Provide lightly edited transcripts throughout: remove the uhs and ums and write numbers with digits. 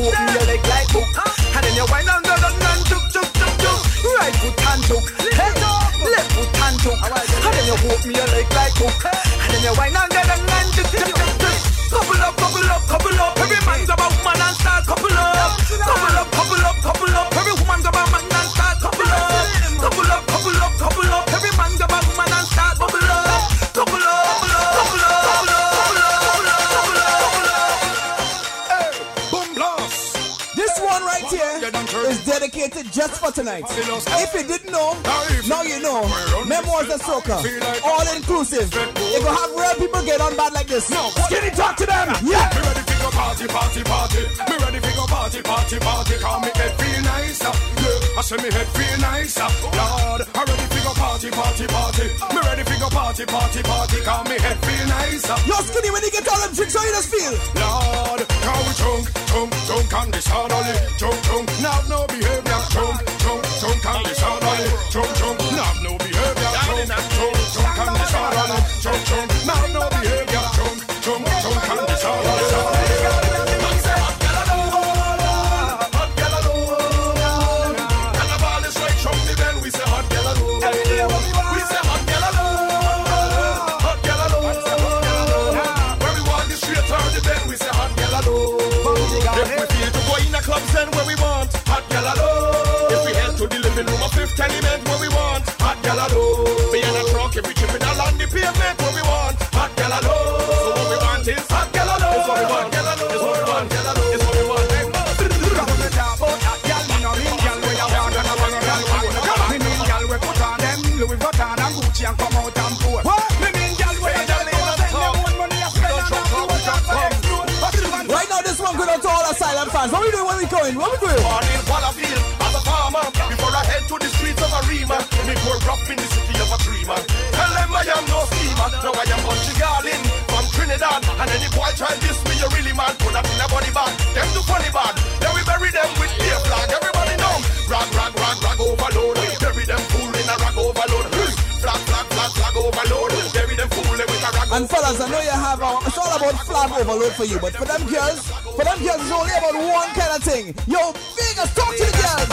hold me your leg like hook. And then you wind down, go down, and tuk, tuk, tuk, tuk. Right foot and tuk, hey, left foot and tuk. And then you hold me your leg like hook. And then you wind down, go down, and tuk, tuk, tuk, tuk. Couple up, couple up, couple up. Every man's about man and start couple up. Couple up, couple up, couple up. Every woman's about man and start couple up. Couple up, couple up, couple up. Every man's about man and start couple up. Couple up, couple up, couple up, couple up, couple up, couple up, couple up. Hey, boom blast. This one right here is dedicated just for tonight. If you didn't know, now you know. Memoirs of Soca, all inclusive. If you have real people get on bad like this, Skinny, talk to them. Yeah. Me ready to go party, party, party. Me ready to go party, party, party. Call me head feel nice. Yeah, I say me head feel nice. Lord, I ready to go party, party, party. Me ready to go party, party, party. Call me head feel nice. Yo, Skinny, when you get all them drinks, how you just feel? Lord, how we drunk, drunk, drunk and disorderly. Drunk, drunk, now no behavior. Drunk, drunk, drunk and disorderly. Drunk, drunk, now no behavior. Drunk, drunk, drunk and disorderly. Drunk, drunk, now no behavior. Drunk, drunk, drunk and disorderly. Clubs and where we want hot gal alone. If we head to the living room of Fifth Element where we want hot gal alone. Be in a truck if we tripping along the pavement where we want hot gal alone. So what we want is hot gal alone. It's what we want, gal alone. It's what we want, gal alone. It's what we want. Come to talk about hot gal, me no mean gal where you want and a one gal want. Me mean gal we put on them Louis Vuitton and Gucci and come out and pour. Me mean gal where you send them one money and spend and have to. Right now, this one going out to all asylum fans. What we doing? Where we going? What we doing? Morning, what I feel as a farmer. Before I head to the streets of Arima, me pour rough in the city of a dreamer. Tell them I am no schemer. Now I am Bungie Garlin from Trinidad. And any boy try this me, you really man. Put that in a body bag. Them do funny bad. Then we bury them with beer flag. Everybody know. Rag, rag, rag, rag overload. Bury them fool in a rag overload. Flag, flag, flag, flag overload. Bury them fool with a rag. And fellas, I know you have it's all about flag overload for you, but for them girls, it's only about one kind of thing. Yo, Vegas, talk to the girls.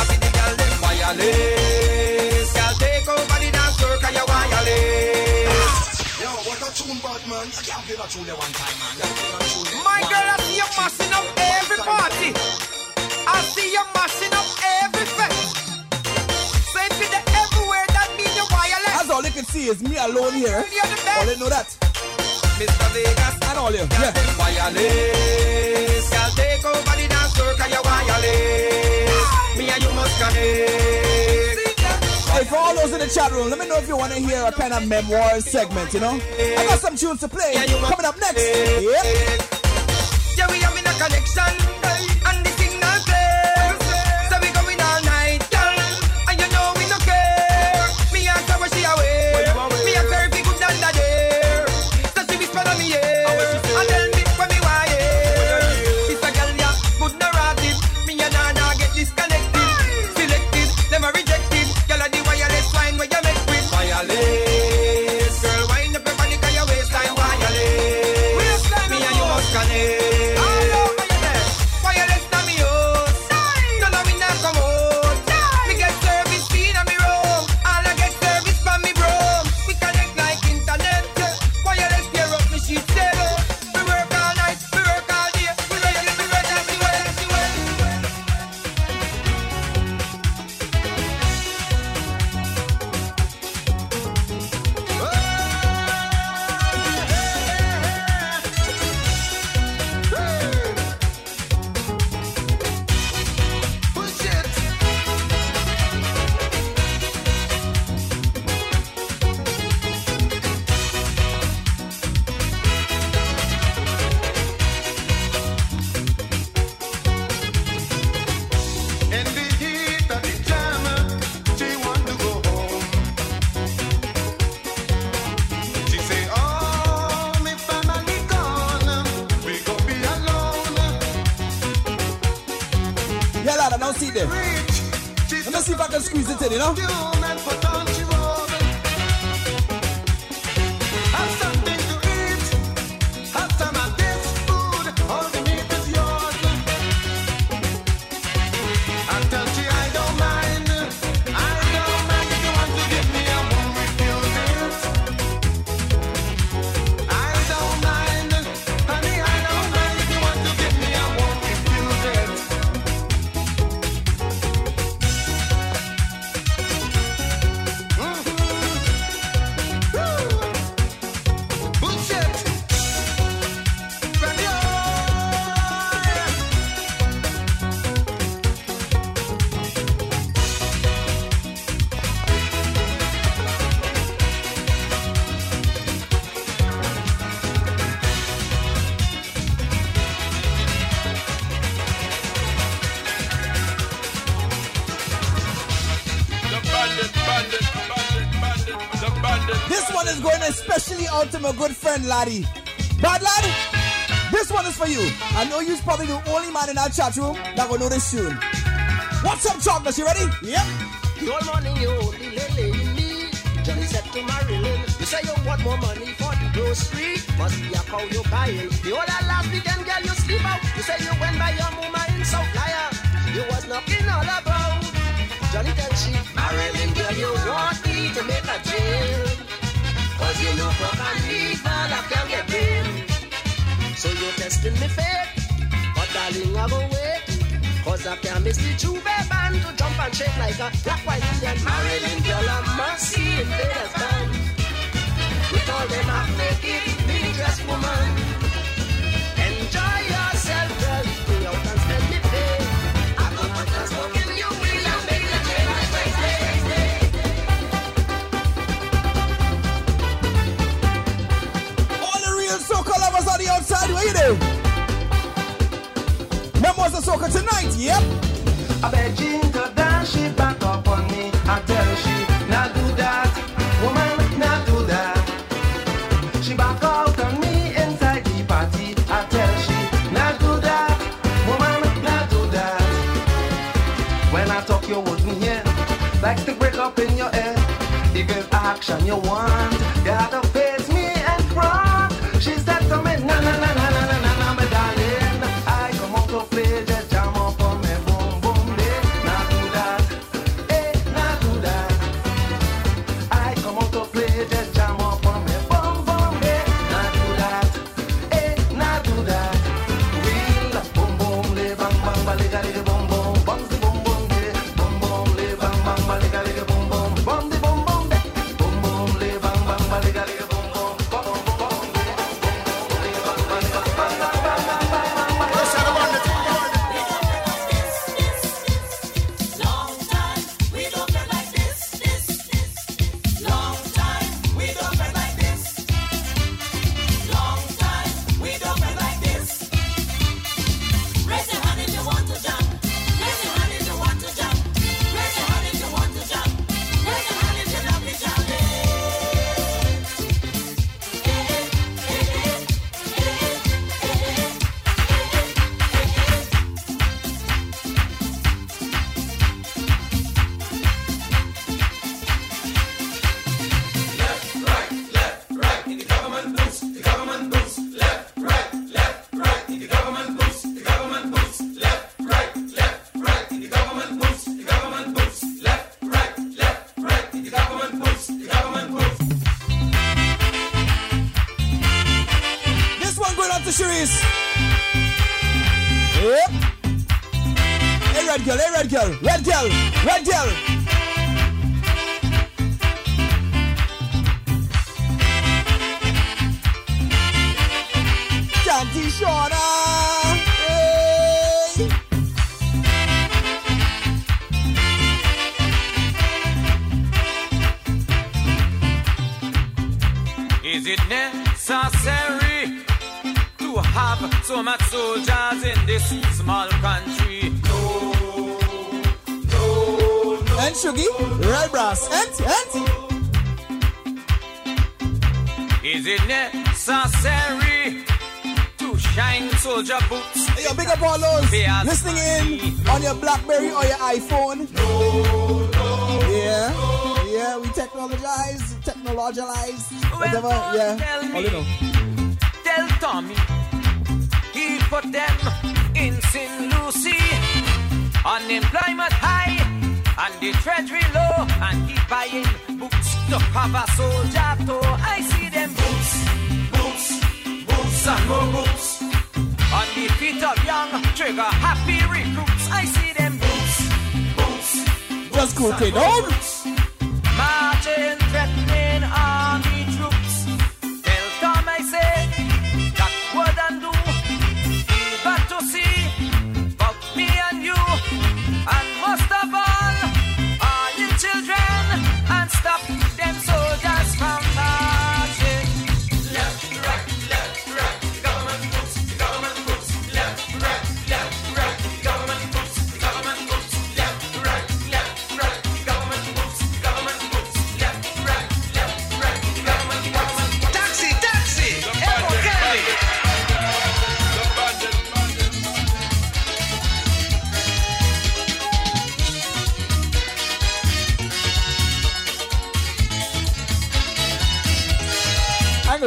Wireless, girl, take over the dance floor, 'cause you're wireless. Yo, what a tune, bad man. I can't play that tune there one time, man. My girl, I see you mashing up every party. I see you mashing up every fest. So if you're everywhere, that means you're wireless. That's all you can see is me alone here. You're the best. All you know that. Mr. Vegas and all you. Yeah. Wireless, girl, take over the dance floor, 'cause you're wireless. Me and you must connect. Hey, for all those in the chat room, let me know if you want to hear a kind of memoir segment, you know? I got some tunes to play. Coming up next. Yeah. Yeah, we have in a connection. And the signal clear. So we going all night, girl. And you know we no care. Me ask her where she away. Me ask her if he good under there. So she whisper on me, yeah. And tell me when me why, yeah. It's a girl, yeah, good narrative. Me and Nana get disconnected. Selected, never rejected. Girl, the wireless line where you make with wireless. Girl, wind up your body 'cause your waistline wireless. Me and you must connect. See them. Let me see if I can squeeze it in, you know? one is going especially out to my good friend Laddie. Bad lad, this one is for you. I know you're probably the only man in our chat room that will know this tune. What's up, Chocolate? You ready? Yep. The whole morning you only lay me. Johnny said to Marilyn, you say you want more money for the grocery. Must be a cow you buying. The whole last weekend, girl, you sleep out. You say you went by your mama in South Flyer. You was knocking all about. Johnny tell she, Marilyn, girl, you want me to make a jail. Cause you look up and evil, I can't get in. So you're testing me faith. But darling, I go wait. Cause I can't miss the Juve band to jump and shake like a black, white Indian. Marilyn, girl, I must see invaders band. With all them half-naked, mini-dress woman. Enjoy yourself, girl. Go out and spend me pay. I go out and smoking you will and make the train like Wednesday. All the real soca lovers on the outside, what you do? Memoirs of Soca tonight, yep. I bet Ginger dance, she back up on me. I tell she, not do that. Woman, not do that. She back out on me inside the party. I tell she, not do that. Woman, not do that. When I talk, you wouldn't hear. Like to break up in your head. If it's action you want, you have to face me and front. She said to me, na na na na na na na na, my darling. I come out to play, just jam up on me, boom boom, day. Now do that, now do that. I come out to play, just jam up on me, boom boom, day. Now do that, now do that. Real boom boom, lay bang bang, baliga liga boom boom, bang the boom boom, day. Boom boom, lay bang bang, baliga liga boom boom, bang the boom boom, day. Boom boom, lay bang bang, baliga liga boom boom, boom boom, boom. Red girl. Candy Shauna. Hey. Is it necessary to have so much soldiers in this small country? No. And Shuggy, Red Brass, and Is it necessary to shine soldier boots? Hey, yo, big up all those listening in on your BlackBerry or your iPhone. No. Yeah, we technologize, whatever, yeah. All you know. Tell Tommy, he put them in St. Lucie, unemployment high, and the treasury low, and he buying boots to cover soldier toe. I see them boots, and more boots, on the feet of young, trigger happy recruits. I see them boots, just cook it down. Marching, threatening army troops. Tell Tom I say, that wouldn't do. But to see, but me and you, and most of all you children, and stop them soldiers from marching. Left, right, the government boots, left, right, the government boots, left, right, the government boots.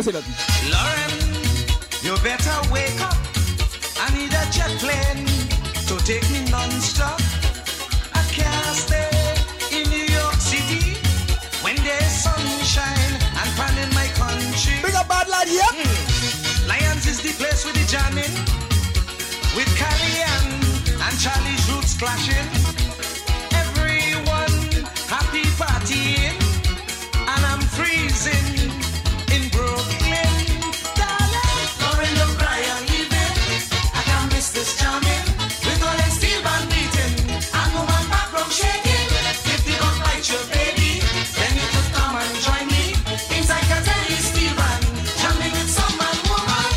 to say nothing. Lauren, you better wake up. I need a jet plane to take me non-stop. I can't stay in New York City when there's sunshine and fun in my country. Bring a bad lad here. Lions is the place with the jamming, with Carrie-Ann and Charlie's roots clashing. Everyone happy partying, and I'm freezing in Brooklyn. Darling, Lauren, don't cry, I'm leaving. I can't miss this jamming. With all them steel band beating and woman background shaking. If they don't like your baby, then you could come and join me inside Caterly's steel band, jamming with some man woman.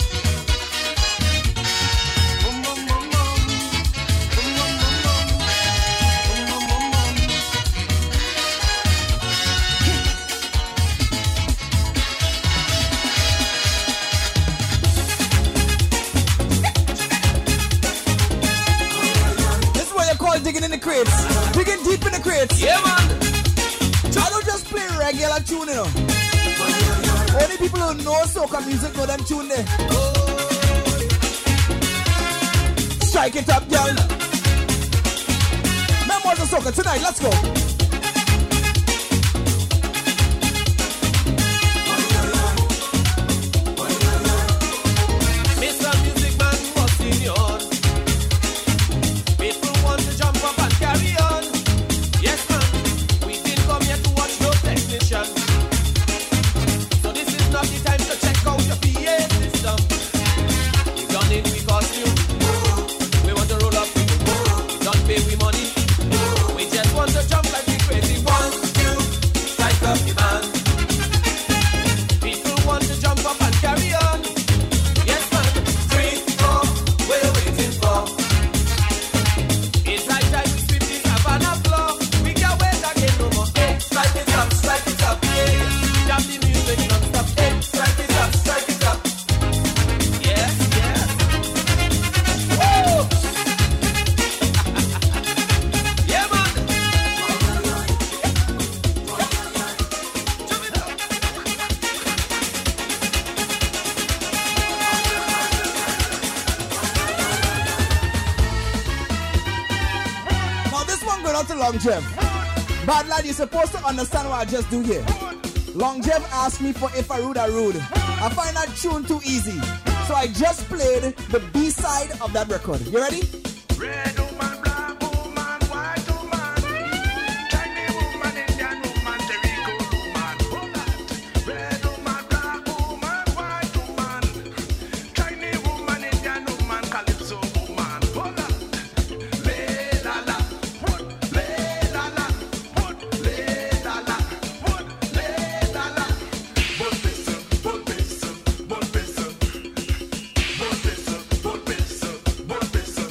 Boom, boom, boom, boom. Boom, boom, boom, boom. Boom, boom, boom, boom. This is what you call digging in the crates. Digging deep in the crates. Yeah, man. I don't just play regular tune, you know. Only people who know soca music know them tune there. Strike it up, girl. Memoirs of Soca tonight, let's go. Mr. Music Man, what's in your? People want to jump up and carry on. Yes, man. We didn't come here to watch no technician. So this is not the time to check out your PA system. We done it, we costume. We want to roll up. We don't pay we money. We just want to jump like we crazy. 1, 2, strike up the band. People want to jump up and carry on. Yes, man. 3, 4, we're waiting for. It's high time we sweep this Havana floor. We can't wait again no more. Hey, strike it up, yeah. Jam the music non-stop. Hey, strike it up, yes, yes. Woo! Yeah, man. Now this one going out to Longev. Bad lad, you're supposed to understand what I just do here. Longev asked me for If I Rude, I Rude. I find that tune too easy. So I just played the B-side of that record. You ready? Red woman, black woman, white woman, Chinese woman, Indian woman, Jericho woman. Hold on. Red woman, black woman, white woman, Chinese woman, Indian woman, Calypso woman. Hold on. Lay la la, lay la la, lay la la, lay la la. Bon peso, bon peso, bon peso, bon peso, bon peso, bon peso.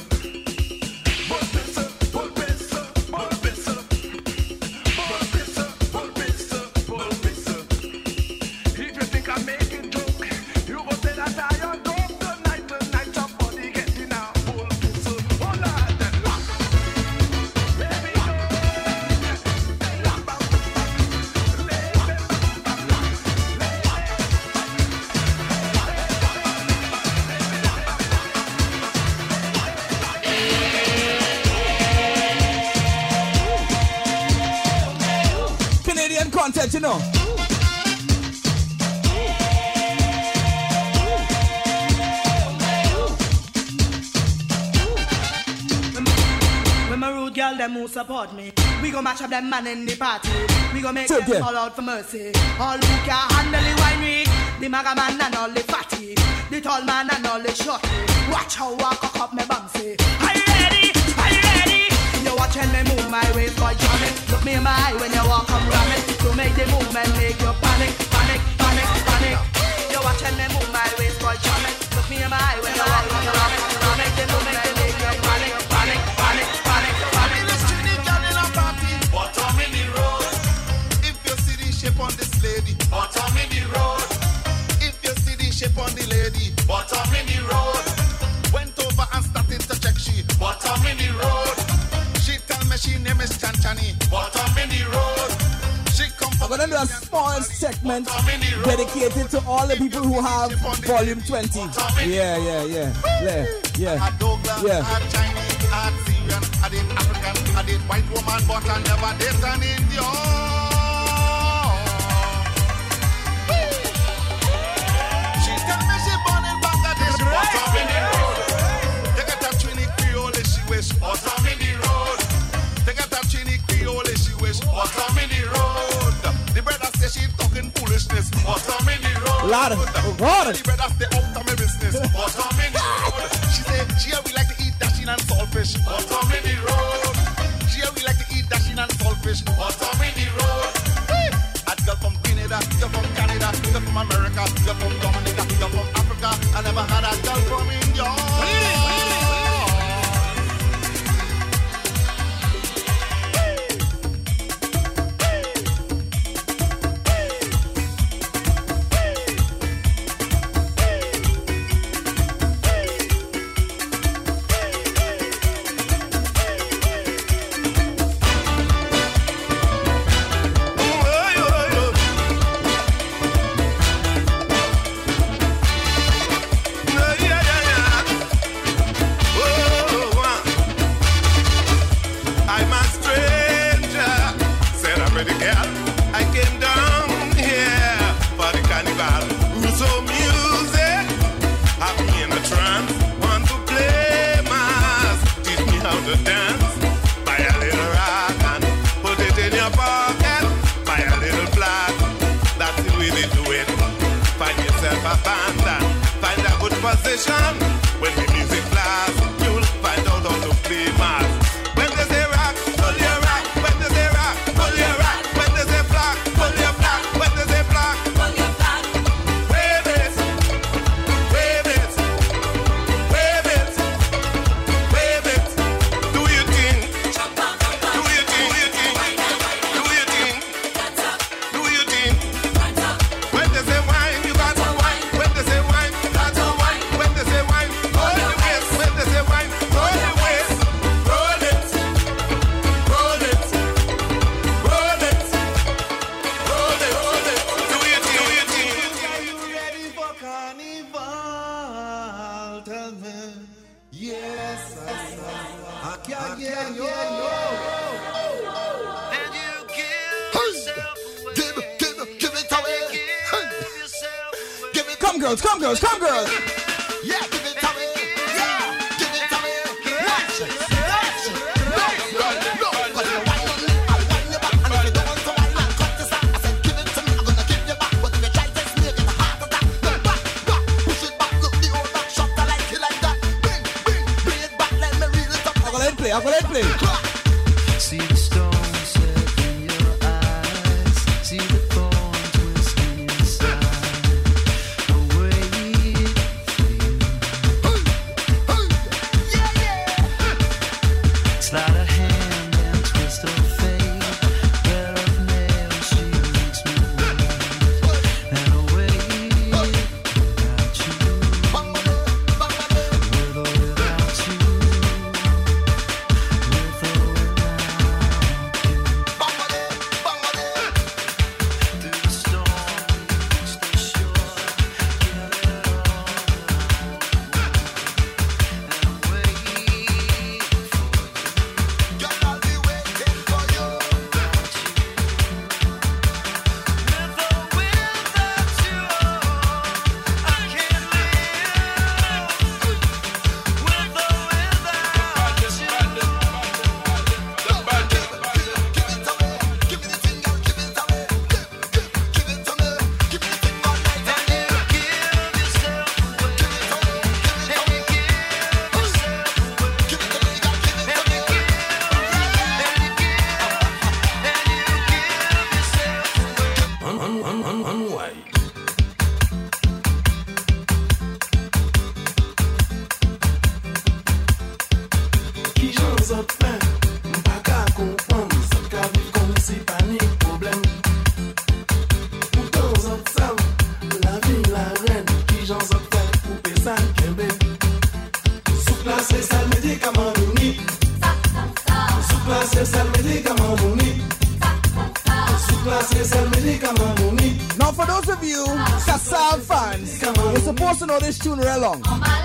If you think I'm making joke, you go say that I am dope tonight. Tonight your body getting a full pistol. Hold on, baby, Canadian content, you know. When my rude girl, them who support me, we gon' match up them man in the party. We gon' make Take them it. call out for mercy. All who can handle the wine week, the maga man and all the fatty, the tall man and all the shorty. Watch how I cock up my bumsy. Are you ready? Are you ready? You're watching me move my waist, boy, jam it. Look me in my eye when you walk up, ram it. To make the movement, make you panic, panic, panic, panic. You're watching me move my waist, boy, jam it. Look me in my eye when you walk up, ram it. To make the movement, make you panic, panic, panic, panic, panic. bottom in the road. If you see the shape on this lady, bottom in the road. If you see the shape on the lady, bottom in the road. Went over and started to check she, bottom in the road. She tell me she name is Chanchani, bottom in the road. She come from gonna do a small segment dedicated to all the people who have volume 20. Yeah. At Douglas, at Chinese, at Syrian, I did African, I did white woman, but I never did an Indian. She tell me she born in Bangladesh, bottom in the road. They get up Trini Creole, she wish bottom in the road. They get up Trini Creole, she wish bottom in the road. The brother say she talking foolishness, bottom in the road. Lord, the brother stay up to me business, bottom in the road. She say she we like to eat dashing and saltfish, bottom in the road. She we like to eat dashing and saltfish, bottom in the road. A girl from Canada, girl from Canada, girl from America, girl from Dominica, girl from Africa. I never had a girl from India. Position when the music blasts, you'll find out how to play mass. When they say rock, pull your rock. When they say rock, pull your rock. When they say black, pull your black. When they say black, pull your black. Wave it, wave it, wave it, wave it. Do your thing, do your thing, do your thing, do your thing, do your thing. When they say wine, you got to wine. When they say wine. Come girls. Yeah, give it away. Yeah, give it away. Watch it. No. But you wine on me, I'll wine you back. And if you don't want to wine and cut this out, I said give it to me, I'm gonna give you back. But if you try to test me, you get a heart attack. Then back, push it back, look the old back shot, I like it like that. Bring it back, let me reel it up. I'm gonna let play. See the stone set in your eyes. See the thorn twisting inside. Slide a hand and twist her fate. Pair of nails, she makes me wait. And away without you. With or without you. With or Sou klase sel medikaman mouni. Sou klase sel medikaman Now for those of you Kassav fans, you're supposed to know this tune real long.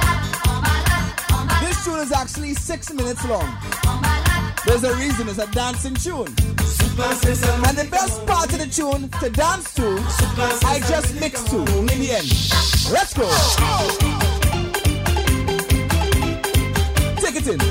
This tune is actually 6 minutes long. There's a reason, it's a dancing tune. And the best part of the tune to dance to, I just mixed to in the end. Let's go. Take it in.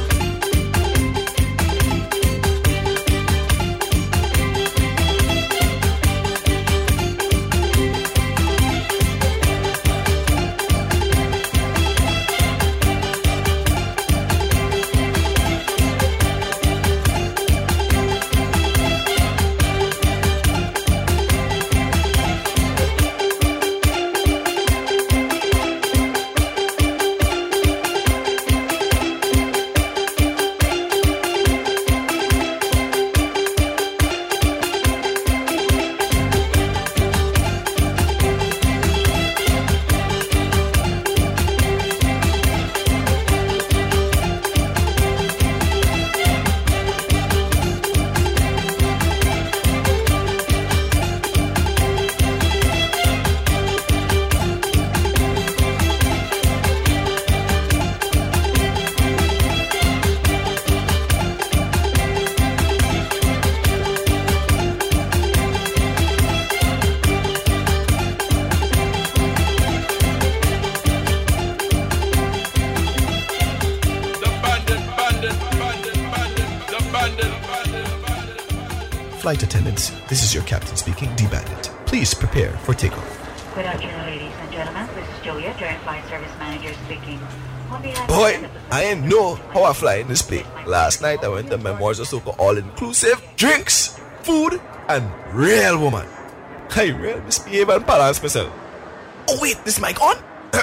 Flight attendants, this is your captain speaking, D-Bandit. Please prepare for takeoff. Good afternoon, ladies and gentlemen. This is Julia, Joint Flight Service Manager speaking. Boy, I ain't know how I fly in this plane. Last night I went to Memoirs of Soca all-inclusive, drinks, food, and real woman. I real misbehave and balance myself. Oh wait, this mic on?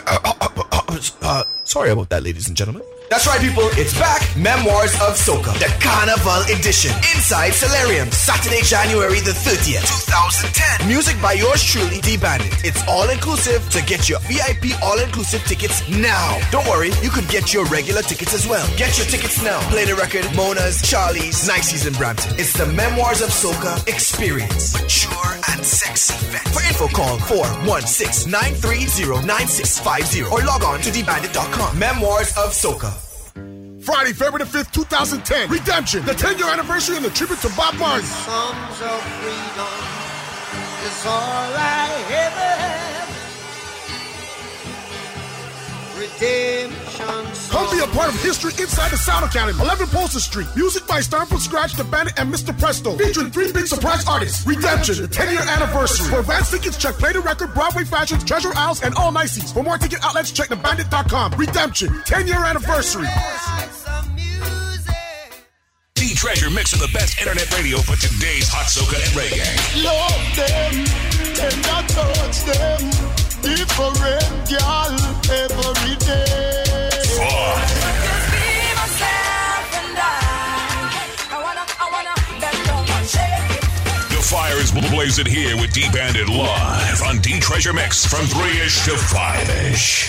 Sorry about that, ladies and gentlemen. That's right, people. It's back. Memoirs of Soca, the Carnival Edition. Inside Solarium, Saturday, January the 30th, 2010. Music by yours truly, D-Bandit. It's all-inclusive, so get your VIP all-inclusive tickets now. Don't worry, you could get your regular tickets as well. Get your tickets now. Play the Record, Mona's, Charlie's, Nicey's in Brampton. It's the Memoirs of Soca experience. Mature and sexy fest. For info, call 416-930-9650 or log on to dbandit.com. Memoirs of Soca. Friday, February the 5th, 2010. Redemption, the 10-year anniversary and the tribute to Bob Marley. Songs of freedom is all I ever have. Redemption. Come be a part of history inside the Sound Academy. 11 Polster Street. Music by Start From Scratch, The Bandit, and Mr. Presto. Featuring 3 big surprise artists. Redemption, the 10-year anniversary. For advance tickets, check Play the Record, Broadway Fashions, Treasure Isles, and all Nicey's. For more ticket outlets, check thebandit.com. Redemption, 10-year anniversary. D-Treasure mixing the best internet radio for today's hot soca and reggae. Love them, tender touch them. Different girl every day. Just be myself and I wanna bend down and shake it. The fire is blazing here with D-Bandit live on D-Treasure Mix from 3-ish to 5-ish.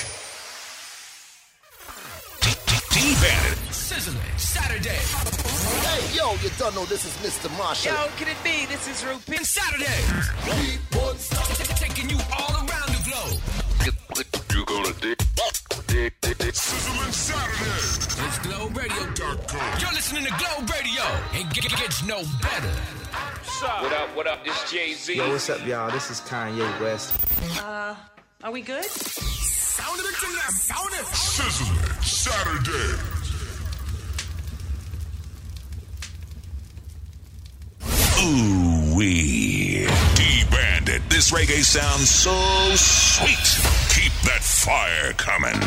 D-Bandit. Sizzling Saturday. Hey, yo, you don't know this is Mr. Marshall. Yo, can it be? This is Rupin. Saturday. Taking you all around the globe. You gonna dig. Sizzling Saturday. It's GlobeRadio.com. You're listening to Globe Radio. It gets no better. What up? This Jay-Z. Yo, what's up, y'all? This is Kanye West. Are we good? Sound of it to now. Sound it. Sizzling Saturday. Ooh-wee. D-Bandit. This reggae sounds so sweet. Keep that fire coming.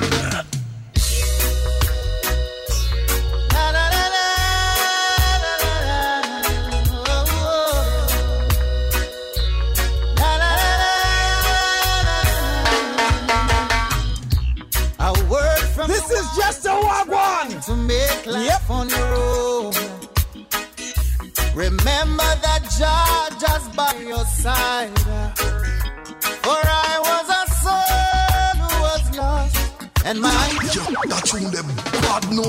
This is just a wagwan to make life on your own. Remember that Jah just by your side. For I was a soul who was lost, and my that's when them bad no.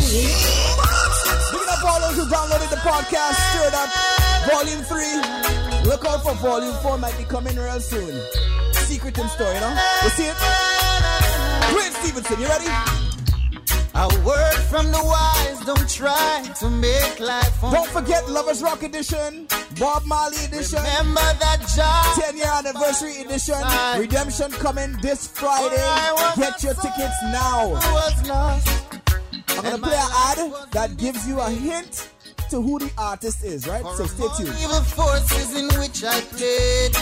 Big up all those who downloaded the podcast, Stirred Up, Volume 3. Look out for Volume 4, might be coming real soon. Secret in store, you know? You see it? Dwayne Stevenson, you ready? A word from the wise, don't try to make life fun. Don't forget Lovers Rock Edition, Bob Marley Edition. Remember that job. 10-year anniversary edition. Redemption coming this Friday. Get your tickets now. I'm going to play an ad that gives you a hint to who the artist is, right? So stay tuned. Evil forces in which I played.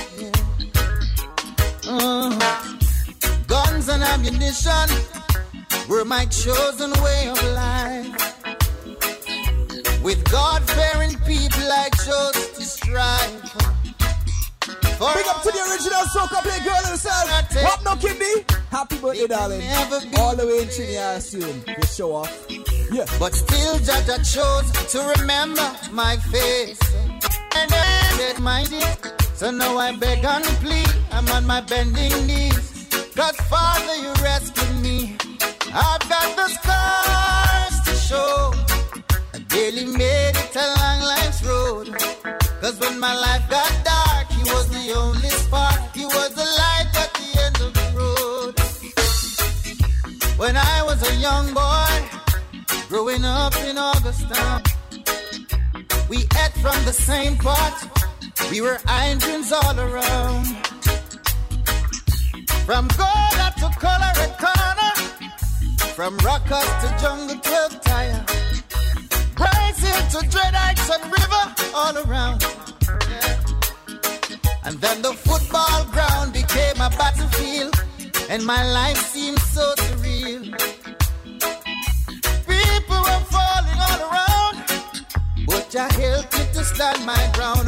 Guns and ammunition were my chosen way of life. With God-fearing people I chose to strive. Big up to the original soca play girl herself. What no Kimby? Happy birthday, darling. All the way in Trinidad soon. Just show off. Yeah. But still Jaja chose to remember my face. And I said my dear. So now I beg and plead. I'm on my bending knees. God Father, you rescued me. I've got the scars to show. I barely made it along life's road. Cause when my life got dark, he was the only spark. He was the light at the end of the road. When I was a young boy, growing up in Augustown, we ate from the same pot. We were irons all around. From Gola to Colorado, from Rockers to Jungle 12 Tire, Brazil to Dread Heights and River, all around. Yeah. And then the football ground became a battlefield, and my life seemed so surreal. People were falling all around, but Jah helped me to stand my ground.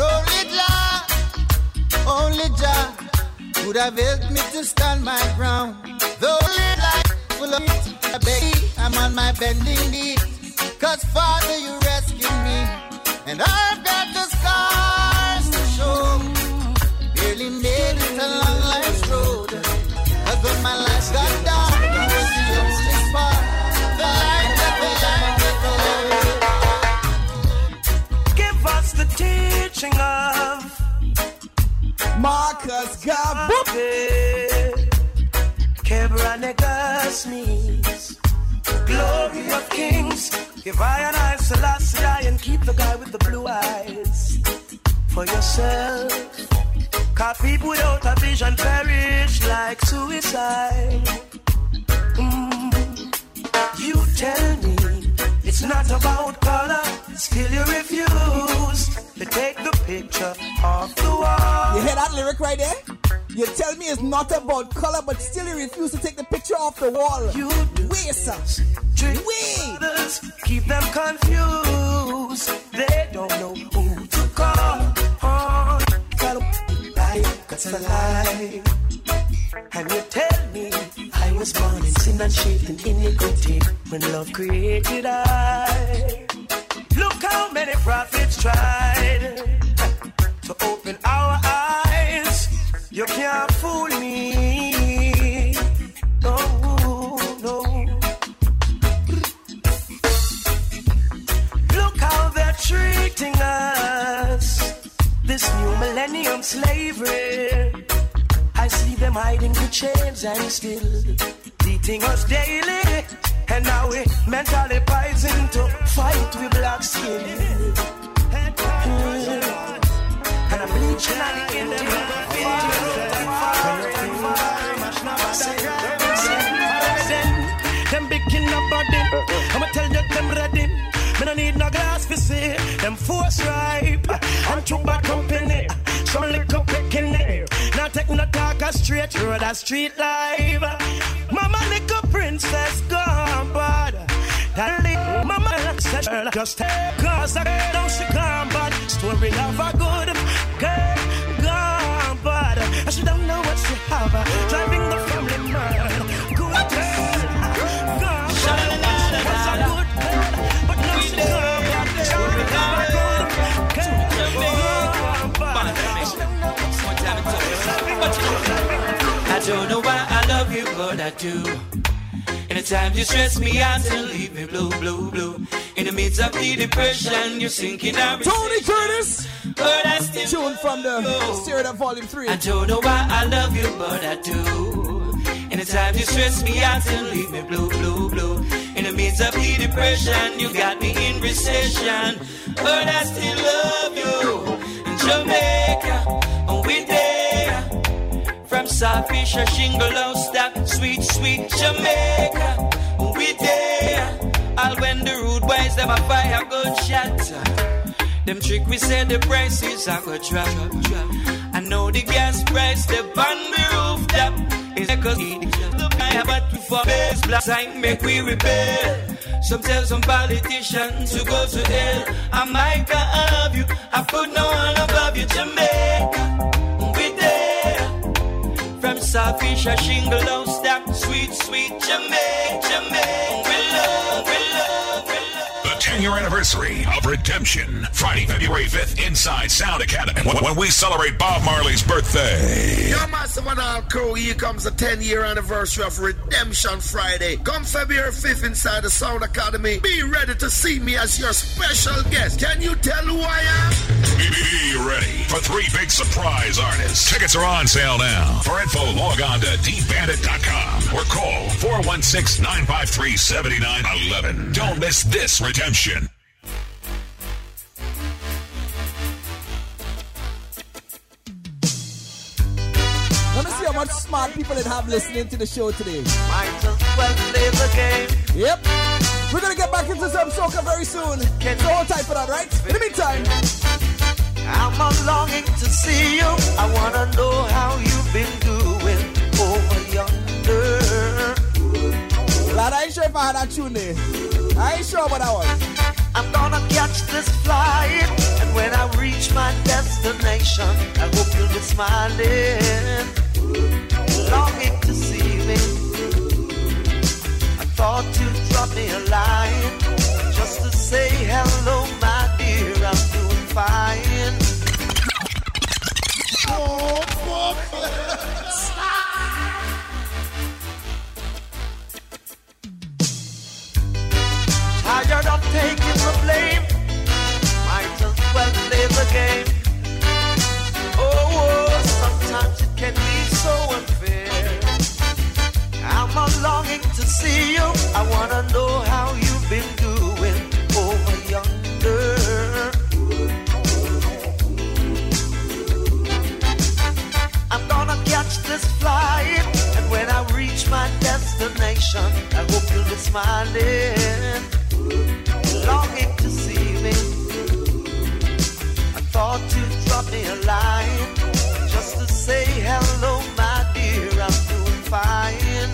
Only Jah would have helped me to stand my ground. Though life full of it, I beg, I'm on my bending knees. Cause Father, you rescued me. And I've got the scars to show. Barely made it along life's road. Cause when my life got dark, it was the only spark. The light that Give us the teaching of Marcus Garvey, Kebranegas means glory of kings. Give I and I Selassie and keep the guy with the blue eyes for yourself. Cause people without a vision perish like suicide. You tell me it's not about color, still you refuse to take the picture off the wall. You hear that lyric right there? You tell me it's not about color, but still you refuse to take the picture off the wall. You do. Wait, sir. Others keep them confused. They don't know who to call on. That's a lie. And you tell me I was born in sin and shaped in iniquity when love created I. Look how many prophets tried to open our eyes. You can't fool me. No, no. Look how they're treating us. This new millennium slavery. I see them hiding the chains and still beating us daily. And now we mentally poison to fight with black skin. And I'm bleaching on the internet. Them big in the body, I'ma tell you them ready. Me no need no glass for see. Them force ripe and too bad company. Some liquor picking it. Now take no talk a straight road, a street life. Mama liquor princess gone bad. That little mama said just take cause I know she gone bad. Story of a good girl gone bad. And she don't know what she have. Driving the family mad. Good girl gone bad. Was a good girl, but now she gone bad. Story of a good girl gone bad. I don't know why I love you, but I do. In the times you stress me out and leave me blue, blue, blue. In the midst of the depression, you're sinking down. Tony Curtis! But I still tune from the Stereo Up Volume 3. I don't know why I love you, but I do. In the times you stress me out and leave me blue, blue, blue. In the midst of the depression, you got me in recession. But I still love you. In Jamaica, we there. From Sawfish or Shingle Stop, sweet, sweet Jamaica, we there. All when the rude boys them a fire gunshot. Them trick we say the prices are go drop. I know the gas price the on the rooftop is because the buy but for base black sign make we rebel. Some tell some politicians to go to hell. I might have you, I put no one above you. Jamaica, we there. From Sawfish or Shingle Stop, sweet, sweet Jamaica, Jamaica, we love, we love, we love. The 10-year anniversary of Redemption, Friday, February 5th, inside Sound Academy, when we celebrate Bob Marley's birthday. Yo, massive and all crew, here comes the 10-year anniversary of Redemption Friday. Come February 5th inside the Sound Academy. Be ready to see me as your special guest. Can you tell who I am? Be ready for 3 big surprise artists. Tickets are on sale now. For info, log on to dbandit.com or call 416-953-7911. Don't miss this Redemption. Let me see how much smart people that have listening to the show today. Might as well play the game. Yep. We're going to get back into some soca very soon. So hold tight for that, right? In the meantime, I'm a longing to see you. I want to know how you've been doing over yonder. Lad, I ain't sure if I had that tune there. I ain't sure about that one. I'm gonna catch this flight, and when I reach my destination, I hope you'll be smiling, longing to see me. I thought you'd drop me a line, just to say hello, my dear, I'm doing fine. Oh, fuck. Tired of taking the blame, might as well play the game. Oh, sometimes it can be so unfair. I'm a longing to see you. I wanna know how you've been doing over yonder. I'm gonna catch this flight, and when I reach my destination, I hope you'll be smiling, longing to see me. I thought you'd drop me a line, just to say hello, my dear, I'm doing fine.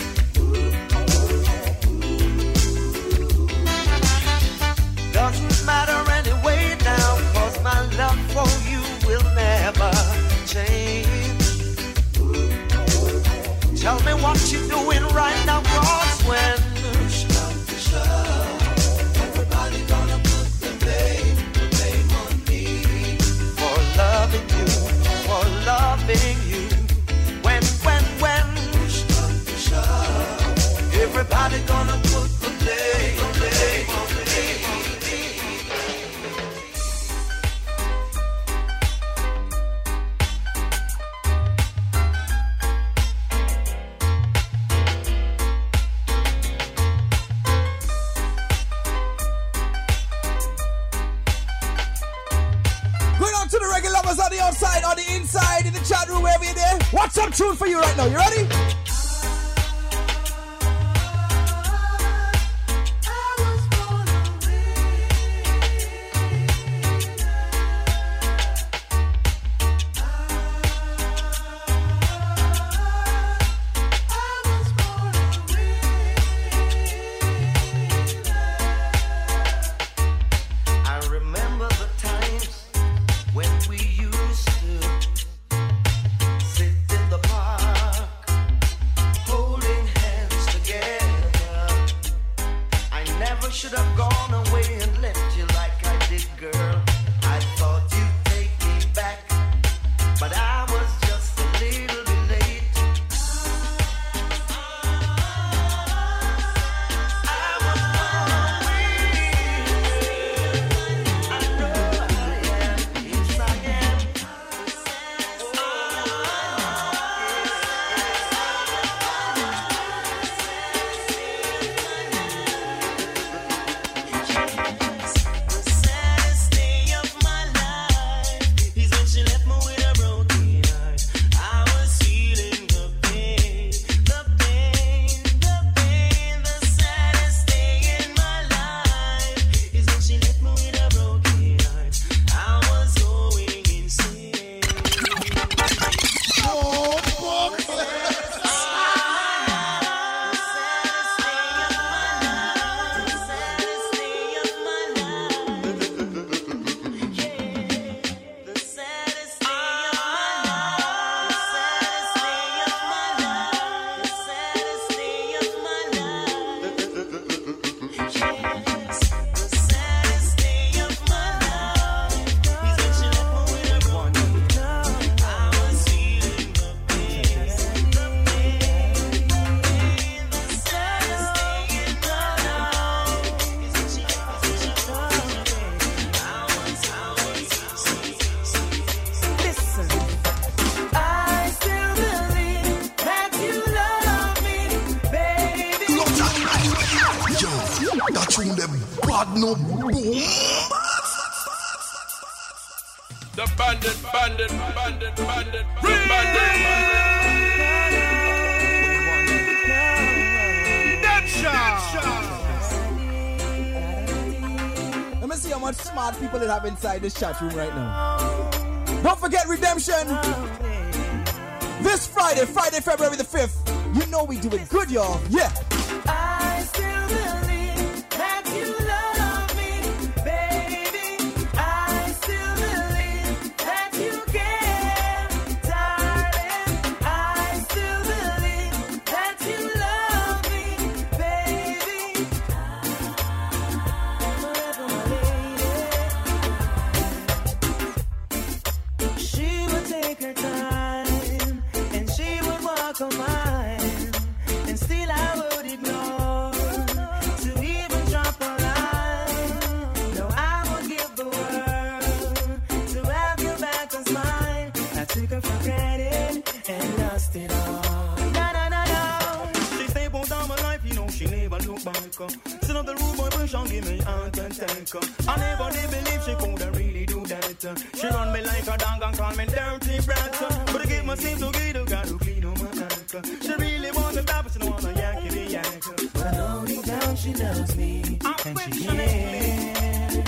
Doesn't matter anyway now, 'cause my love for you will never change. Tell me what you're doing right now, 'cause when everybody gonna put the blame on me for loving you, for loving you. When everybody gonna put the blame on me. On the outside, on the inside, in the chat room, wherever you're there. What's some tune for you right now? You ready? tune them bad no boom. The bandit. Let me see how much smart people they have inside this chat room right now. Don't forget Redemption. This Friday, February the 5th. You know we do it good, y'all. Yeah. I still believe that you love me, baby. I still believe that you care, darling. I still believe that you love me, baby. Forever my lady. She would take her time and she would walk on mine. Still I would ignore to even drop a line. No, I would give the world to have you back as mine. I took her for granted and lost it all. No. She stay on down my life, you know she never look back. Sit up the room, boy, push on, give me aunt and tanker. I never did believe she could really do that. She run me like a dog and call me dirty brat. But I give my seem to get a guy to clean on my ankle. She really wants to stop, but she don't want to yanky the yanker. But I know deep down she loves me, and she cares.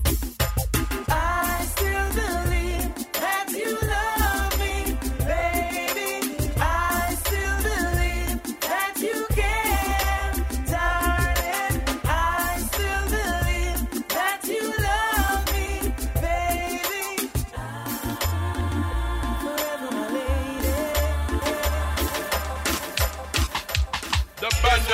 I still believe that you love me, baby. I still believe that you care, darling. I still believe that you love me, baby. Forever my lady. The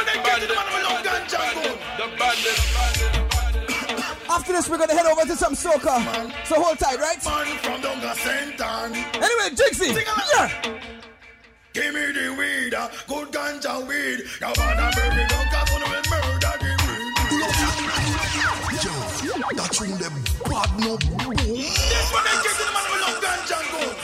bandit. After this, we're gonna head over to some soca. So hold tight, right? Man from Donga Sentan. Anyway, Jigsy. Yeah. Give me the weed, good ganja weed. Now bad baby, don't cause on the murder the weed. Yo, that tune them bad no boom. This one they get the man with love ganja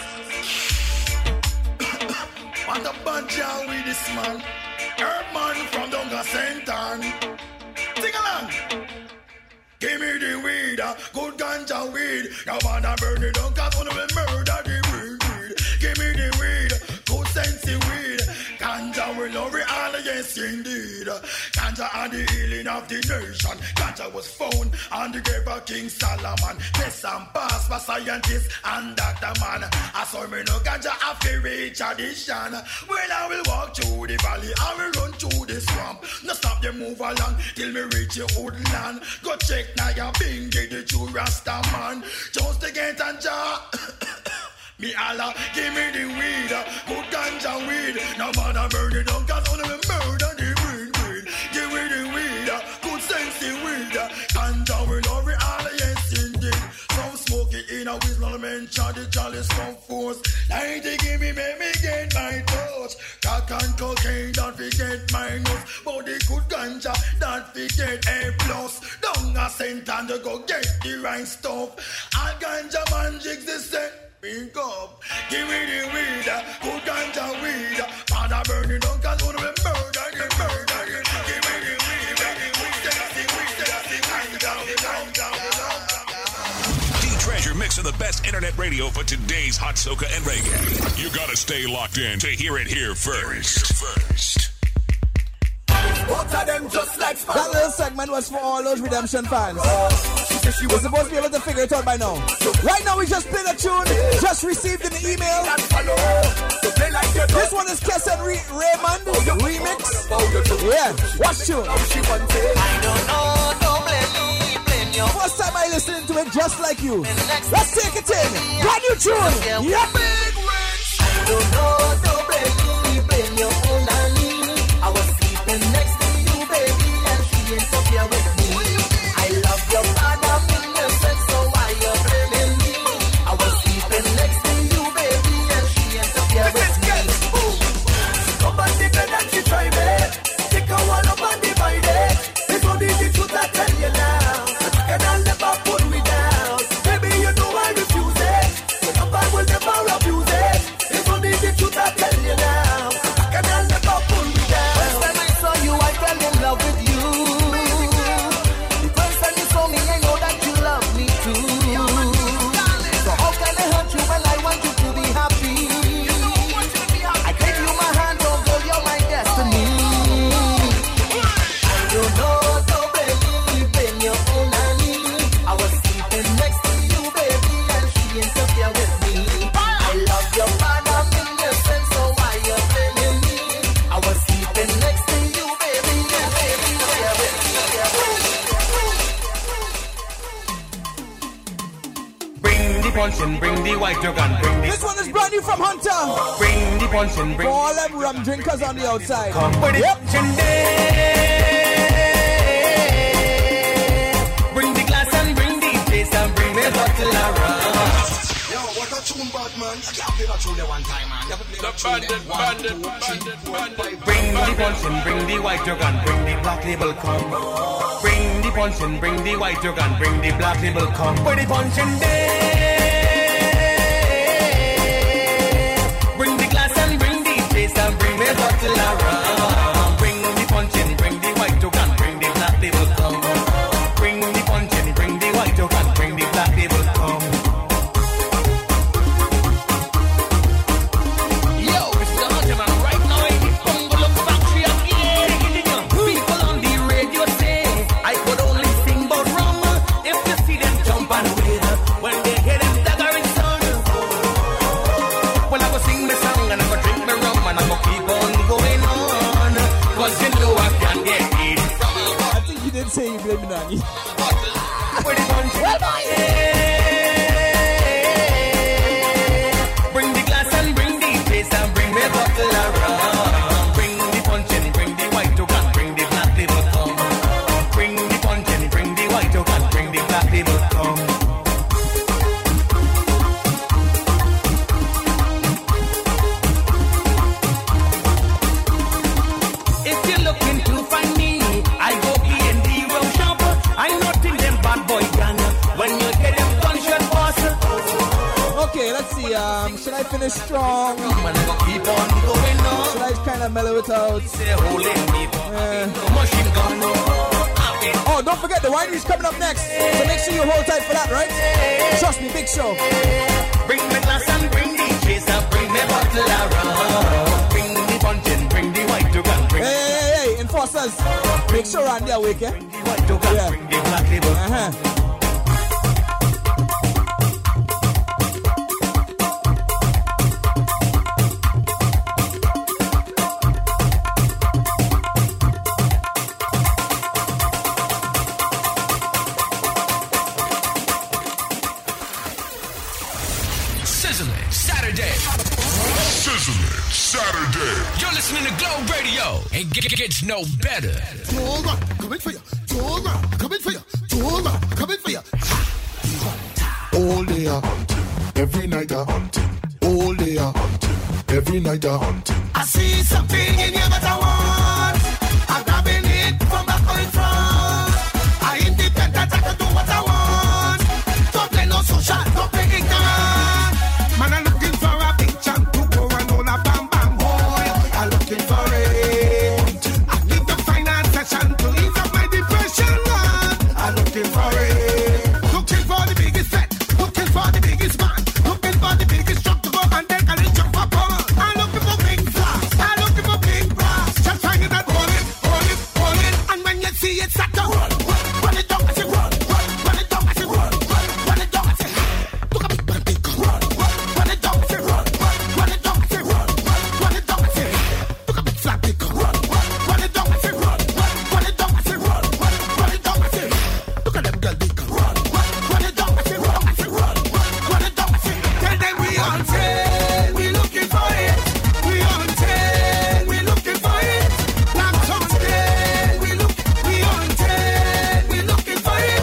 good. What a ganja weed this man. Herb man from Donga Sentan. Sing along. Give me the weed, good ganja weed. Now bad baby, don't cause on the murder the weed. Give me the weed, good sensey weed. Ganja will love it all, yes indeed. Ganja and the healing of the nation. Ganja was found on the grave of King Solomon. Test and pass for scientists and Dr. Man. I saw me no ganja after reach addition. Well, I will walk through the valley, I will run through the swamp. No stop them move along till me reach your woodland. Go check now your bingy, the true Rasta man. Just to get ganja. Me Allah, give me the weed, good ganja weed. Now man I burn it down, cause only me murder the weed. Give me the weed, good sensey weed. Ganja will love it all, yes indeed. Some smoke it in a whistle, mention the chalice come forth. 90 give me, make me get my touch. Crack and cocaine, don't forget my nose. But the good ganja, don't forget A+. Don't a cent and you go get the right stuff. All ganja man jigs the same. Pick up, give me the weed, good ganja weed. Father burn it down, cause when we murder, give me the weed, D-Treasure mixing the best internet radio for today's hot soca and reggae. You gotta stay locked in to hear it here first. That little segment was for all those Redemption fans. We're supposed to be able to figure it out by now. Right now we just played a tune, just received an email. This one is Kesson Raymond remix. Yeah, watch tune. First time I listened to it just like you. Let's take it in. Brand new tune. Yep. I don't know, don't blame your own honey. I was sleeping next to you, baby, and she ain't up here with me. I love your father, innocent, so why you blaming me? I was sleeping next to you, baby, and she ain't up here with me. Come on, take her that she try me. Take her one up and divide it. It's only the truth I tell you now. And I'll never put me down. Baby, you know I refuse it. But I will never abuse it. It's only the truth I tell you now. And I'll never put punching, bring the white jug and bring the... This one is brand new from Hunter. Bring the punching, bring... For all them rum drinkers on the outside. Come with it, punching day. Bring the glass and bring the chase and bring the bottle of rum. Yo, what a tune, bad man. I can't play that tune there one time, man. Bring the punching, bring the white jug and bring the black label come. Bring the punching, bring the white jug and bring the black label come. For the punching day. Bring the glass and bring the chase and bring the bottle of rum. Bring the punching, bring the white jug and bring the black label come. Bring the punching, bring the white jug and bring the black label come. Say you blame Nani. Bring the glass and bring the chase and bring the bottle of rum. Bring the punching, bring the white jug and bring the black label come. Bring the punching, bring the white jug and bring the black label come. If you're looking to find me, I go I'm not in them bad boy gang. When you get them gunshot boss. Okay, let's see. Should I finish strong? Man, I go keep on going on. Should I kind of mellow it out? Machine gun. Oh, don't forget the winery's coming up next. So make sure you hold tight for that, right? Trust me, big show. Bring the glass and bring the chase and bring the bottle of rum. Bring the punching, bring the white jug and bring. Hey, enforcers. Make sure Randy awake, eh? Yeah. Bring the black label. Sizzling Saturday. Sizzling Saturday. You're listening to Glow Radio. It gets no better. Tora, coming for you. Tora, coming for you. Tora, coming for you. All day a hunting, every night a hunting. All day a hunting, every night a hunting. I see something in you that I want. I'm grabbing it from back or in front. I independent, I can do what I want. Don't play no social, don't play ignorant. Man, I'm looking for a big champ to go and all a bam bam boy. I'm looking for it. I need the finance session to ease up my depression. I'm looking for it. Looking for the biggest set. Looking for the biggest man. Looking for the biggest truck to go and take a little jump up on. I'm looking for big flash. I'm looking for big brass. Just find it and hold it, hold it, hold it. And when you see it, start to run. Run it down, I say run. Run it down, I say run. Run it down, I say look at me, run it down, run it down, I say run. Run it down, I say run. Run it down, I say look at me, flat big run. Run it down, I say run. Run it down, I say run. Run it down, I say look at them girl big run. Run it down, I say run. I say run. Run it down, I say tell them we on train. We looking for it. We on train. We looking for it. Black Sunday. We on train. We looking for it.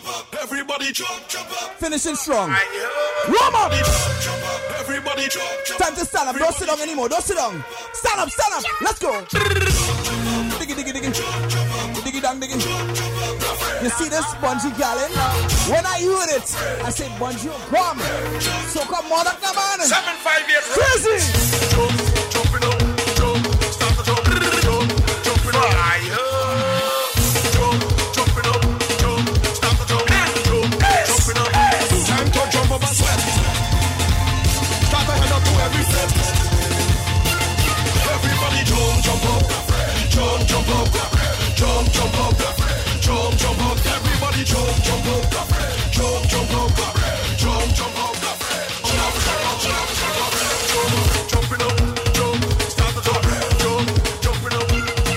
Everybody jump up. Finishing strong. Warm up. Everybody jump. Time to stand up. Don't sit down anymore. Don't sit down. Stand up. Stand up. Let's go. Diggy, diggy, diggy. Diggy, dang, diggy. You see this bungee gallon? When I heard it, I said, bungee, come. So come on, come on. 7-5 years. Crazy. Jumping up. Jump. Start to jump. Jumping up. Jumping up. Jump. Start to jump. Jumping up. Time to jump up and sweat. Start to head up to every step. Everybody jump up. Jump up. Jump up. Jump up. Everybody jump up. Jump up. Jump up. Jumping up. Jump. Start to jump. Jumping up.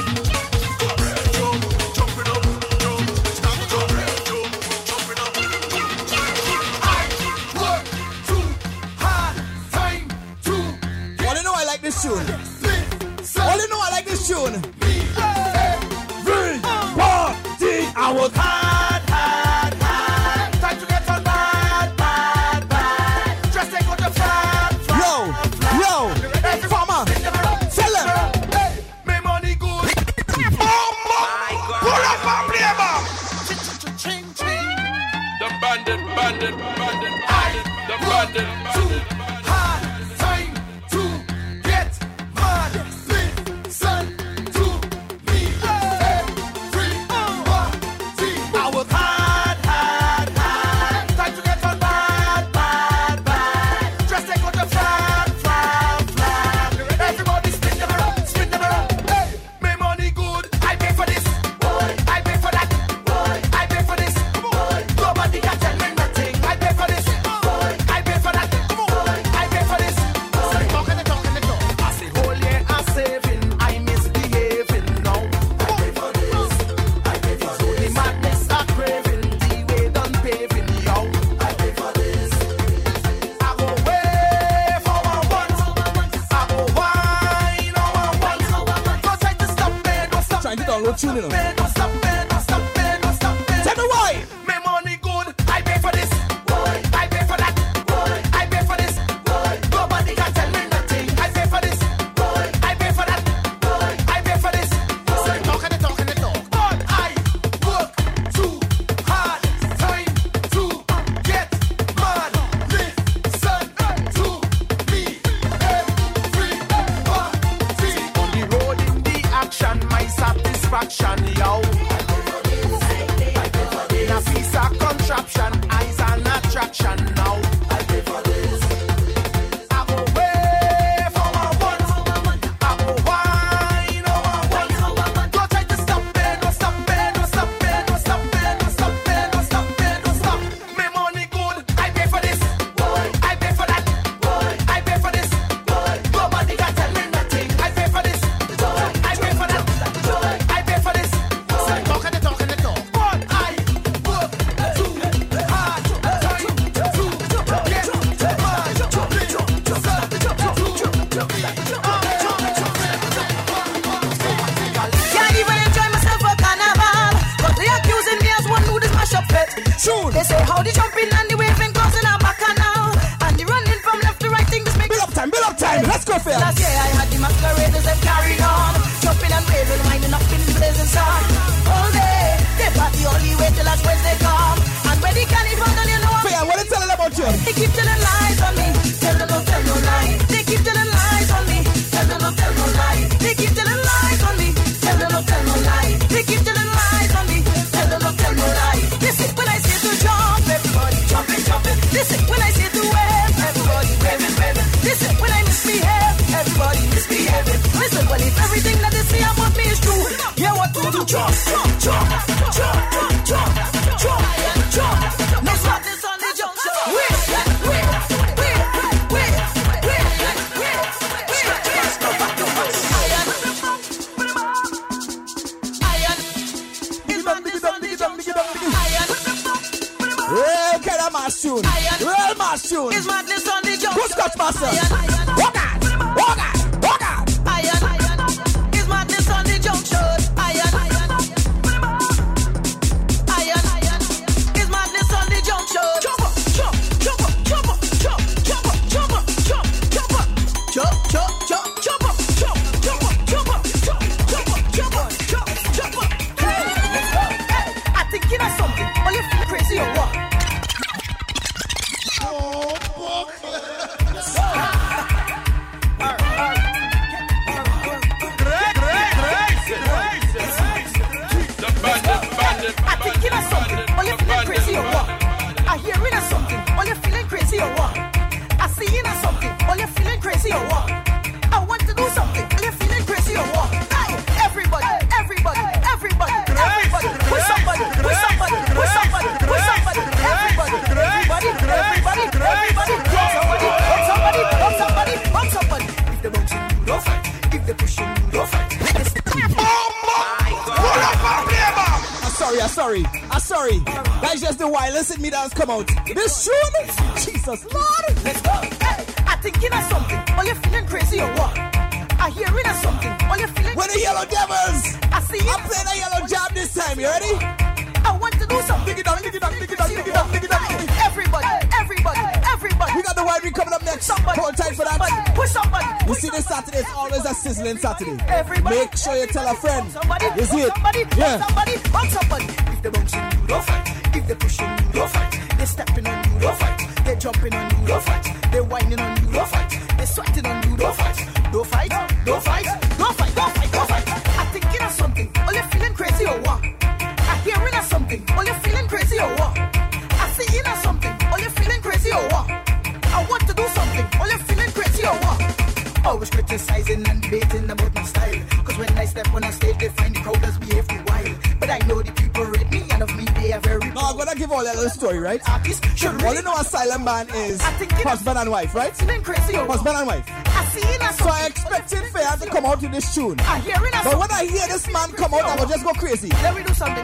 Jumping up. Jump. Start to jump. Jumping up. I work too hard. Time to. All you know I like this tune. All you know I like this tune. I work hard. Time to get on bad. Just take out the fat. Yo, farmer, tell them. Hey, my money good. Pull up and play back. The bandit. The bandit. Too hard. Time to get mad. Listen to me. I work hard. Time to get on bad. Just take out the fat. Everybody spin them around. Hey, my money good. I pay for this. I pay for that. I pay for this. Nobody can tell me nothing. I pay for this. I pay for that. I pay for this. Talking the talk. I say whole year I'm saving. I misbehaving now. I pay for this. I pay for this. The madness I craving. The way done paving, yo. I pay for this. I go way for one. I go wine on one. Don't try to stop me. Don't stop Trying to download tune, you know. me. Don't stop me. Tell me why. My money good. I pay for this. I pay for that. I pay for this. Nobody can tell me nothing. I pay for this. I pay for that. I pay for this. Talking the talk. But I work too hard. Time to get mad. Listen to me. Everybody. On the road in the action, my satisfaction, yo. In a piece of contraption, eyes an attraction now. I pay for this. I go way for one. I go wine on one. Don't try to stop me. Don't stop me. My money good. I pay for this. I pay for that. I pay for this. Nobody can tell me nothing. I pay for this. I pay for that. I pay for this. Talking the talk. But I work too hard. Time to get Can't even enjoy myself for carnival, but they accusing me as one who does mash up it. Tune. They say how the jumping and the waving causing a bacchanal, and the running from left to right thing this makes. Build up time. Let's go, Phil. Last year I had the masqueraders and carried on, jumping and waving, winding up in the blazing sun. All day, they party only wait till last Wednesday come, and when the carnival done, you know what? Phil, what are you telling about you? They keep telling lies on me, tell no lie. They keep telling lies on me, tell no lie. They keep telling lies on me, tell no lie. They keep telling lies on me, tell no lie. This is when I say to jump, everybody jumping. This is when I say to wave, everybody waving. This is when I misbehave, everybody misbehaving. Listen, well if everything that they say about me is true, yeah, what to do? Jump. No stop this on the jump. Wait. Real kind of mass tune. Real mass tune. Is madness on the jump. Who's Scotch Master? Walk out. Is madness on the junction. Is madness crazy or what? I want to do something. Are you feeling crazy or what? Hey, everybody, everybody, everybody, everybody, push somebody, push somebody, push somebody, push somebody, everybody, everybody, everybody, everybody, bump somebody, bump somebody, bump somebody, bump somebody. If they bouncing, you don't fight. If they pushing, you don't fight. I'm sorry. That's just the wildest in me that has come out. This tune, Jesus Lord. Let's go. Hey, I thinking of something. Are you feeling crazy or what? I hearing of something. Are you feeling? We're the Yellow Devils. I see you. I'm playing a yellow jab this time. You ready? I want to do something. Dig it down, dig it down, dig it down, dig it down, dig it down. Everybody, everybody, everybody. We got the winery coming up next. Somebody, hold tight for that. Somebody, push somebody. You see, this Saturday is always a sizzling Saturday. Everybody, make sure you tell a friend. Somebody, you see it? Somebody, yeah. Somebody, bump somebody. If they bouncing, you don't fight. If they pushing, you don't fight. They stepping on you, don't fight. They jumping on you, don't fight. They whining on you, don't fight. They sweating on you, don't fight. Don't fight, don't fight, don't fight, don't fight, don't fight. I'm thinking of something. Are you feeling crazy or what? I'm hearing of something. Are you feeling crazy or what? I'm seeing of something. Are you feeling crazy or what? I want to do something. Are you feeling crazy or what? Always criticizing and debating about my style. Cause when I step on a stage, they find the crowd does behave too wild. But I know the people rate me, and of me they are very. No, I'm gonna give all that little story, right? Artists should all you know a silent band is husband and wife, right? Crazy husband and wife. So I expected Fair to come out with this tune. But when I hear this man come out, I will just go crazy. Let me do something.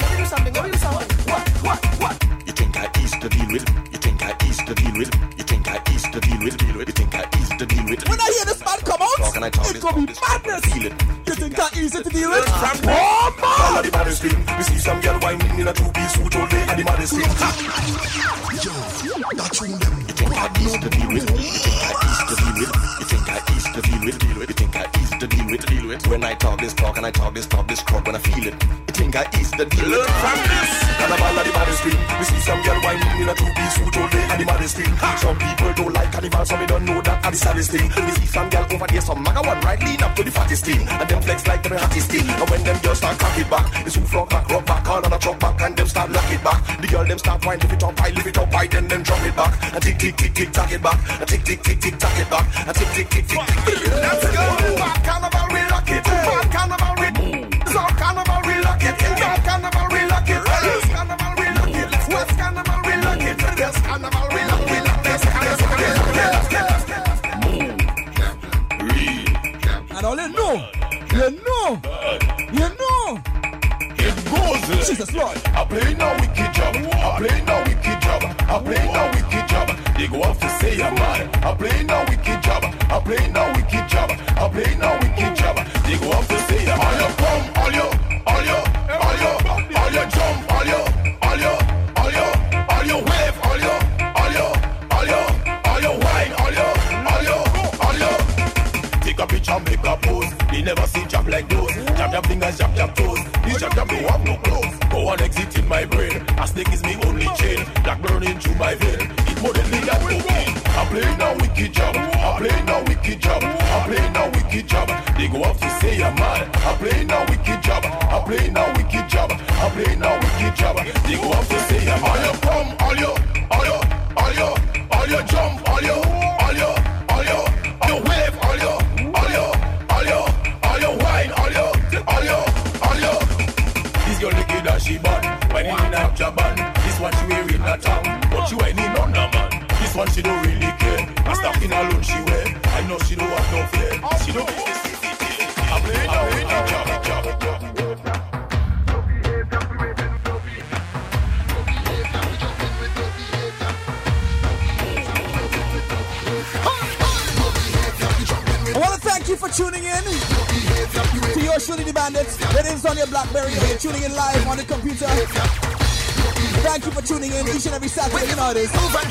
What? You think I easy to deal with? You think I easy to deal with? You think I easy to deal with? You think I easy to deal with? When I hear this man come out, it's gonna be madness. You think I easy to deal with? Oh man! All of the baddest thing. We see some girl whining in a two-piece suit all day and the baddest thing. Yo, that tune them. You think I easy to deal with? You think I easy to deal with? You think I easy to deal with? You think I easy to deal with? When I talk this talk and I talk this crowd when I feel it. You think I easy to deal with? From this, Carnival of the baddest thing. We see some girl whining in a two-piece suit all day and the baddest thing. Some people don't like Carnival, so we don't know that and the saddest thing. We see some girl over there, some maga one right lean up to the fattest thing, and them flex like the hottest thing. And when them girls start cock it back, it's who flock back, rock back, all on a truck back, and them start lock it back. The girl them start whine, lift it up high, then them drop it back, and tick tick tick tick tack it back, and tick tick tick tick tack it back, and tick tick tick tick tick. Let's go. Bad Carnival, we lock it. Bad Carnival, we South Carnival, we lock it. North Carnival, we lock it. East Carnival, we lock it. West Carnival, we lock it. West Carnival, we lock it. West Carnival, we lock it. And all you know. It goes. Jesus Lord. I play no wicked job. I play no wicked job. I play no wicked job. They go off to say I'm mad. I play no wicked job. I play no wicked job. I play no wicked job. They go off to say I'm all you come, all you jump, all you wave, all you wine, all you. Take a picture, make a pose. They never see jab like those. Jab fingers, jab toes. These jab don't have no clothes. Go on exit in my brain. A snake is me only chain. Black burning through my vein. It more than me than cocaine. I play no wicked job. I play no wicked job. I play no wicked job. They go off to say I'm mad. I play no wicked job. I play no wicked job. I play no wicked job. They go off to say I'm mad. All you come, all you jump, all you wave, all you wine, all you. This girl liquid and she bad. When in a Japan, this one she wearing a tongue, but she whining on the man. This one she don't really care. I'm stuck in alone she wear. I know she don't have no fear. She don't make this easy. I play now with the job. I want to thank you for tuning in to your Shirley the Bandits. That is on your BlackBerry or you're tuning in live on the computer. Thank you for tuning in each and every Saturday. You know it is.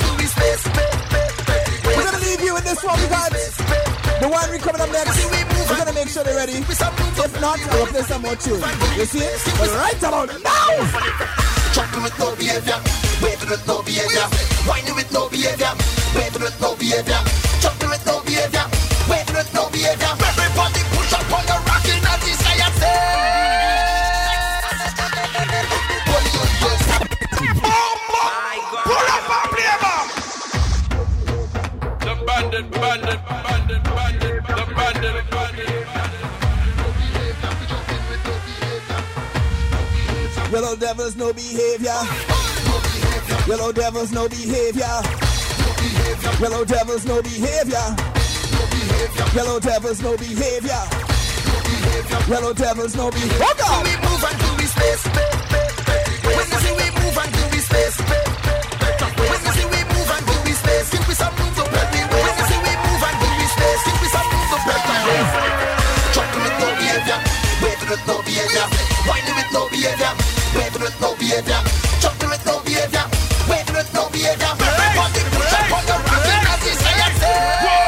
We're going to leave you in this one because the winery coming up next. We're going to make sure they're ready. If not, we'll play some more tunes. You see it? But right about now! Chopping with no behavior, waving with no behavior, whining with no behavior, waving with no behavior, chopping with no behavior, waving with no behavior. Everybody push up on the rocking and the science. Pull up and play, man. The bandit. Yellow devils, no behavior. Yellow devils, no behavior. Yellow devils, no behavior. Yellow devils, no behavior. Yellow devils, no behavior. Oh God! We move and do we space. When you see we move and do we space. When you see we move and do we space. Give me some moves up everywhere. When you see we move and do we space. Give me some moves up everywhere. Chopping with no behavior. Waving with no behavior. Winding with no behavior. Waving with no behavior. Chopping with no behavior. Waving with no behavior. Everybody push up on the rocking as he say and say.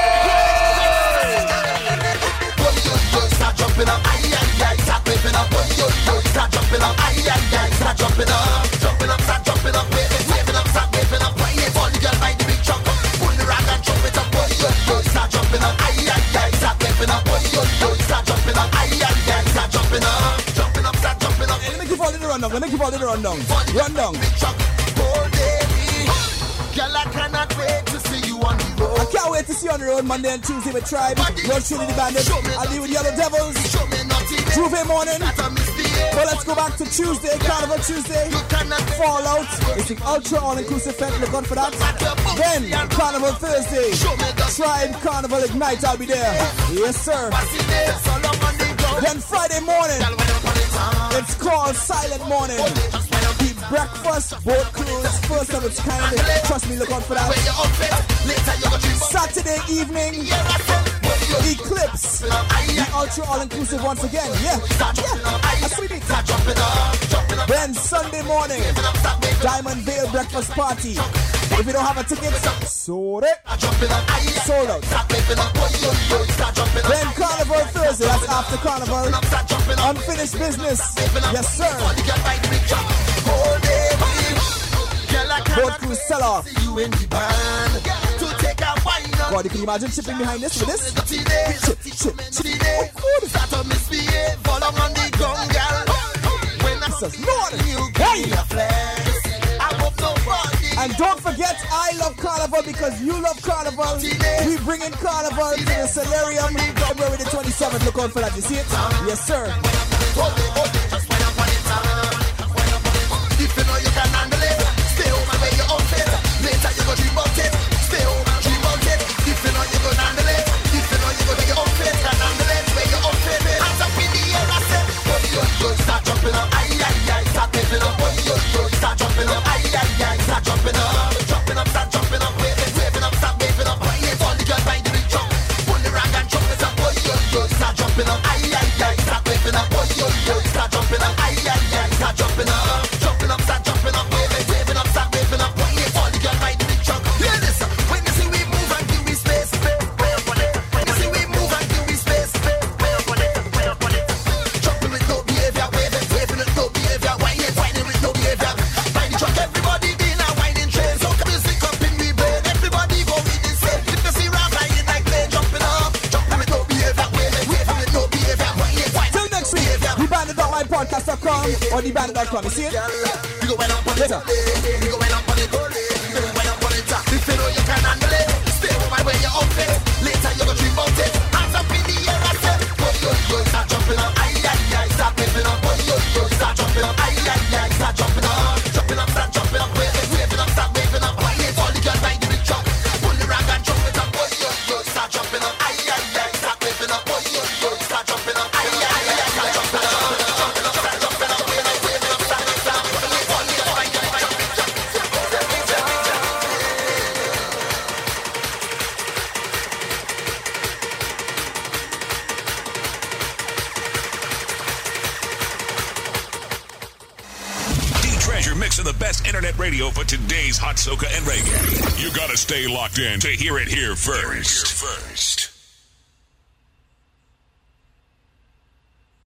Start jumping up, aye, aye, aye, start waving up, yo, start jumping up, aye, aye, aye, start jumping up, start jumping up, waving up, start waving up, why you fall, girl, by the big truck, pull the rag and jump it up, yo, start jumping up, aye, aye, aye, start waving up, yo, start jumping up, aye, aye, aye, start jumping up, start jumping up. Hey, let me keep all in the rundown, rundown. Girl, I cannot wait to see you on the road. I can't wait to see you on the road Monday and Tuesday with Tribe. You're chilling the bandit. I'll be with Yellow Devils. Juve morning. But let's go back to Tuesday, Carnival Tuesday. Fallout. It's the ultra all-inclusive fete. Look out for that. Then Carnival Thursday. Tribe Carnival Ignite. I'll be there. Yes, sir. Then Friday morning. It's called Silent Morning. Breakfast, boat cruise, first of its kind. Trust me, look out for that. Saturday evening, Eclipse, the ultra all-inclusive once again. Yeah, a sweetie. Then Sunday morning, Diamond Vale breakfast party. If you don't have a ticket, sold out. Then Carnival Thursday, that's after Carnival. Unfinished business, yes sir. Boat cruise sell off. God, you can imagine chipping behind this with this? Chip. Hey! And don't forget, I love Carnival because you love Carnival. We bring in Carnival to the Solarium February the 27th. Look out for that. You see it? Yes, sir. If you know you can handle it, stay home and wear your outfit. Later you go dream about it. Stay home and dream about it. If you know you can handle it, if you know you go wear your outfit, can handle it, wear your outfit. Hands up in the air, I said, yo, start jumping up, aye, aye, aye, start waving up, yo, start jumping up, aye, aye, aye, start jumping up, start jumping up, waving up, start waving up, why ain't all the girls by the big truck, pull the rag and jump it up, yo, start jumping up, aye, aye, aye, start waving up, yo, start jumping up, aye, aye, aye, start jumping up. Start jumping up, waving up, start waving up. Why you fall, the girl by the big truck? Hear this, when you see we move and give we space, when you see we move and give we space, jumping with no behavior, waving with no behavior, whining with no behavior. By the truck, everybody in a whining train. So come music up in we brain, everybody go with the same. If you see round flying like plane, jumping with no behavior, waving with no behavior. Till next week, thebandit.mypodcast.com or thebandit.com. You see it? We go up on it. We go up on it. If you know you can handle it, stay home and wear your outfit. Later you go dream about it. Hands up in the air, I said, yo, start jumping up, aye, aye, aye, start waving up, yo, start jumping up, aye, aye, aye, start jumping up, start jumping up, waving up, start waving up. Why ain't all the girls by the big truck? Pull the rag and jump it up, yo, start jumping up, aye, aye, aye, start waving up, yo, start jumping up, aye, aye, aye, start jumping up. Mix of the best internet radio for today's hot soca and reggae. You gotta stay locked in to hear it here first.